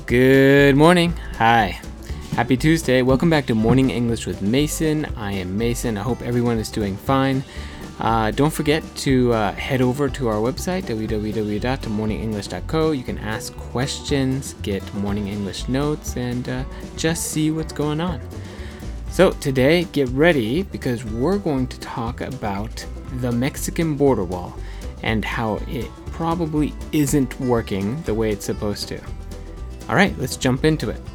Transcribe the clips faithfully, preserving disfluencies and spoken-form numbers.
Good morning. Hi. Happy Tuesday. Welcome back to Morning English with Mason. I am Mason. I hope everyone is doing fine. Uh, don't forget to uh, head over to our website, w w w dot morning english dot co. You can ask questions, get morning English notes, and uh, just see what's going on. So today, get ready because we're going to talk about the Mexican border wall and how it probably isn't working the way it's supposed to. All right, let's jump into it.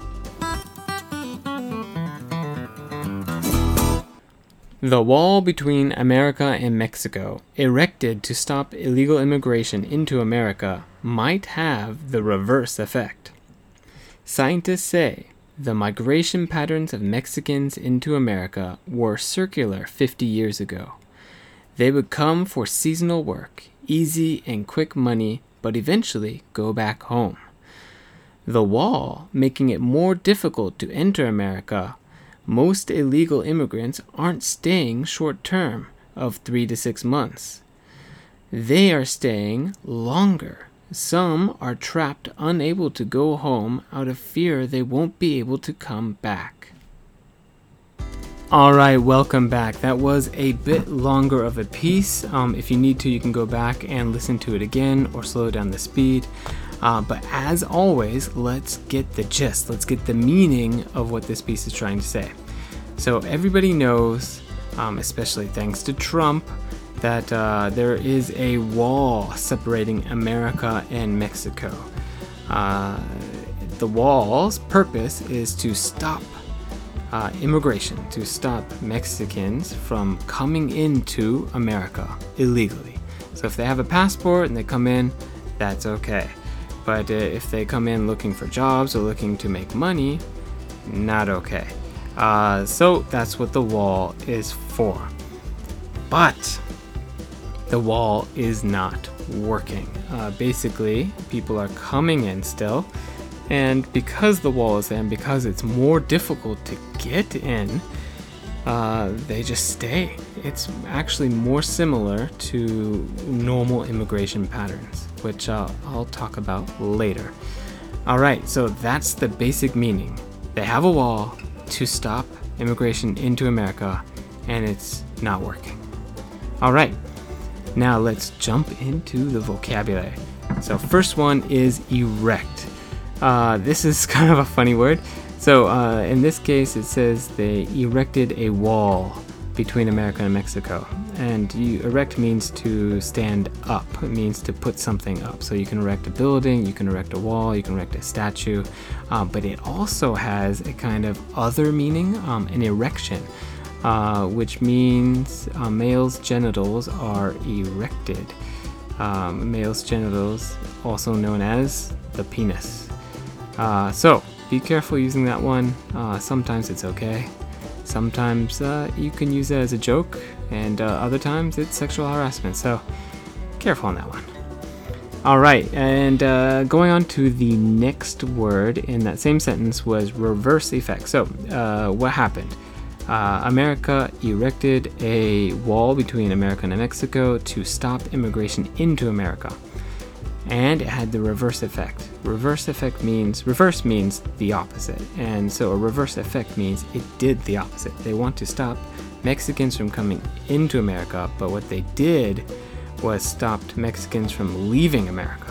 The wall between America and Mexico, erected to stop illegal immigration into America, might have the reverse effect. Scientists say the migration patterns of Mexicans into America were circular fifty years ago. They would come for seasonal work, easy and quick money, but eventually go back home. The wall, making it more difficult to enter America, most illegal immigrants aren't staying short term of three to six months. They are staying longer. Some are trapped unable to go home out of fear they won't be able to come back. All right, welcome back. That was a bit longer of a piece. Um, if you need to, you can go back and listen to it again or slow down the speed. Uh, but as always, let's get the gist. Let's get the meaning of what this piece is trying to say. So everybody knows, um, especially thanks to Trump, that uh, there is a wall separating America and Mexico. Uh, the wall's purpose is to stop uh, immigration, to stop Mexicans from coming into America illegally. So if they have a passport and they come in, that's okay. But uh, if they come in looking for jobs or looking to make money, not okay. Uh, so that's what the wall is for. But the wall is not working. Uh, basically, people are coming in still. And because the wall is there and because it's more difficult to get in, uh, they just stay. It's actually more similar to normal immigration patterns, which uh, I'll talk about later. All right, so that's the basic meaning. They have a wall to stop immigration into America, and it's not working. All right, now let's jump into the vocabulary. So first one is erect. Uh, this is kind of a funny word. So uh, in this case, it says they erected a wall between America and Mexico. And you, erect means to stand up. It means to put something up. So you can erect a building, you can erect a wall, you can erect a statue. Uh, but it also has a kind of other meaning, um, an erection, uh, which means uh, male's genitals are erected. Um, male's genitals, also known as the penis. Uh, so be careful using that one. Uh, sometimes it's okay. Sometimes uh, you can use it as a joke, and uh, other times it's sexual harassment. So careful on that one. All right, and uh, going on to the next word in that same sentence was reverse effect. So uh, what happened? Uh, America erected a wall between America and Mexico to stop immigration into America. And it had the reverse effect. Reverse effect means, reverse means the opposite. And so a reverse effect means it did the opposite. They want to stop Mexicans from coming into America, but what they did was stopped Mexicans from leaving America.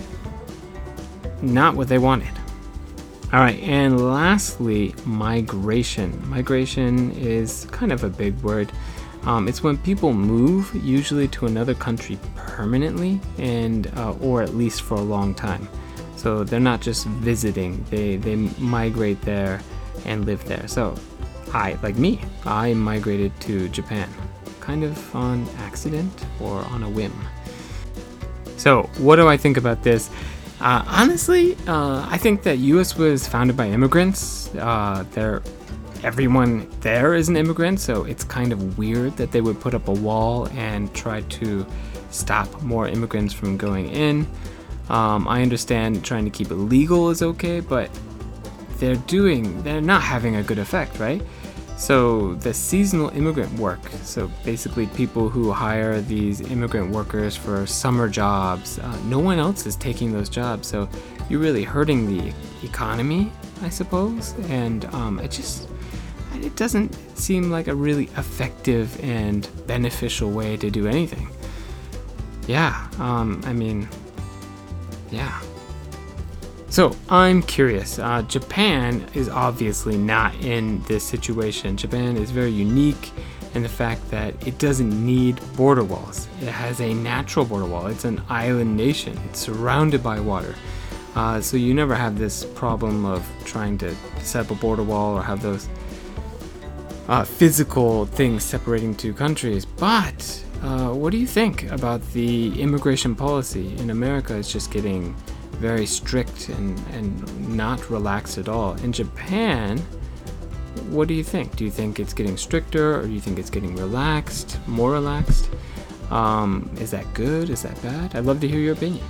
Not what they wanted. All right, and lastly, migration. Migration is kind of a big word. Um, it's when people move, usually to another country permanently, and uh, or at least for a long time. So they're not just visiting; they they migrate there and live there. So, I like me, I migrated to Japan, kind of on accident or on a whim. So, what do I think about this? Uh, honestly, uh, I think that U S was founded by immigrants. Uh, they're Everyone there is an immigrant, so it's kind of weird that they would put up a wall and try to stop more immigrants from going in. Um, I understand trying to keep it legal is okay, but they're doing, they're not having a good effect, right? So the seasonal immigrant work, so basically people who hire these immigrant workers for summer jobs, uh, no one else is taking those jobs. So you're really hurting the economy, I suppose. And um, it just it doesn't seem like a really effective and beneficial way to do anything. Yeah, um, I mean, yeah. So I'm curious. Uh, Japan is obviously not in this situation. Japan is very unique in the fact that it doesn't need border walls. It has a natural border wall. It's an island nation. It's surrounded by water. Uh, so you never have this problem of trying to set up a border wall or have those uh, physical things separating two countries. But uh, what do you think about the immigration policy in America? It's just getting very strict and, and not relaxed at all. In Japan, what do you think? Do you think it's getting stricter, or do you think it's getting relaxed, more relaxed? Um, is that good? Is that bad? I'd love to hear your opinion.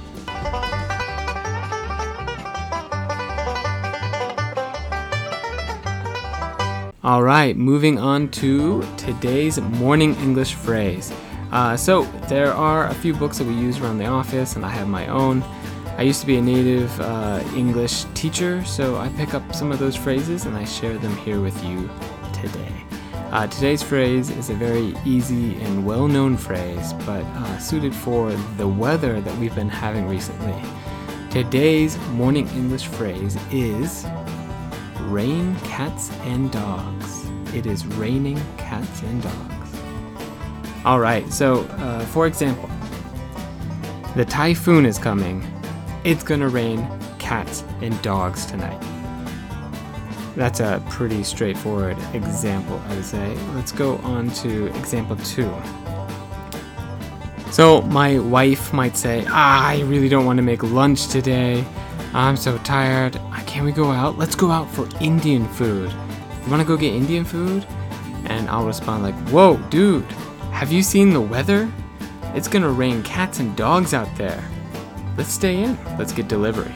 All right, moving on to today's morning English phrase. Uh, so there are a few books that we use around the office, and I have my own. I used to be a native uh, English teacher, so I pick up some of those phrases and I share them here with you today. Uh, today's phrase is a very easy and well-known phrase, but uh, suited for the weather that we've been having recently. Today's morning English phrase is rain, cats, and dogs. It is raining cats and dogs. All right, so uh, for example, the typhoon is coming. It's gonna rain cats and dogs tonight. That's a pretty straightforward example, I would say. Let's go on to example two. So my wife might say, ah, I really don't want to make lunch today. I'm so tired. Can we go out? Let's go out for Indian food. You want to go get Indian food? And I'll respond like, whoa, dude, have you seen the weather? It's gonna rain cats and dogs out there. Let's stay in. Let's get delivery.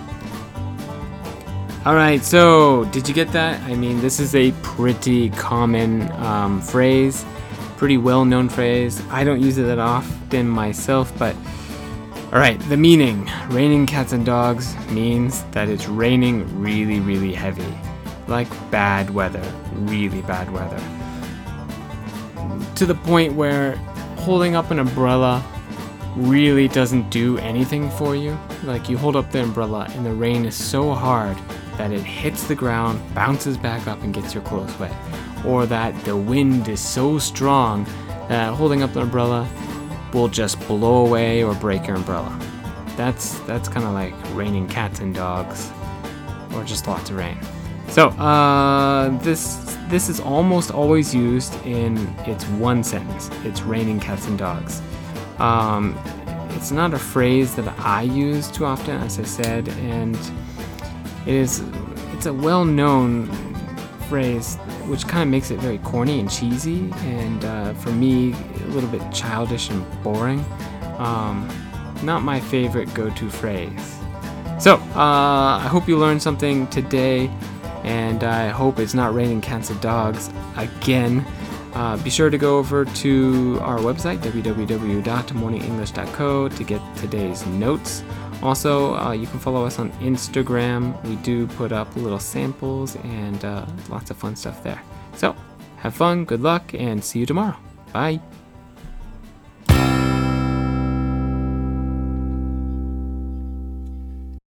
All right, so did you get that? I mean, this is a pretty common um, phrase, pretty well-known phrase. I don't use it that often myself, but all right, the meaning. Raining cats and dogs means that it's raining really, really heavy. Like bad weather, really bad weather. To the point where holding up an umbrella really doesn't do anything for you. Like you hold up the umbrella and the rain is so hard that it hits the ground, bounces back up and gets your clothes wet. Or that the wind is so strong that holding up the umbrella will just blow away or break your umbrella. That's that's kind of like raining cats and dogs, or just lots of rain. So uh, this this is almost always used in its one sentence. It's raining cats and dogs. Um, it's not a phrase that I use too often, as I said, and it is it's a well-known phrase, which kind of makes it very corny and cheesy, and uh, for me, a little bit childish and boring. Um, not my favorite go-to phrase. So, uh, I hope you learned something today, and I hope it's not raining cats and dogs again. Uh, be sure to go over to our website, w w w dot morning english dot co, to get today's notes. Also, uh, you can follow us on Instagram. We do put up little samples and uh, lots of fun stuff there. So, have fun, good luck, and see you tomorrow. Bye.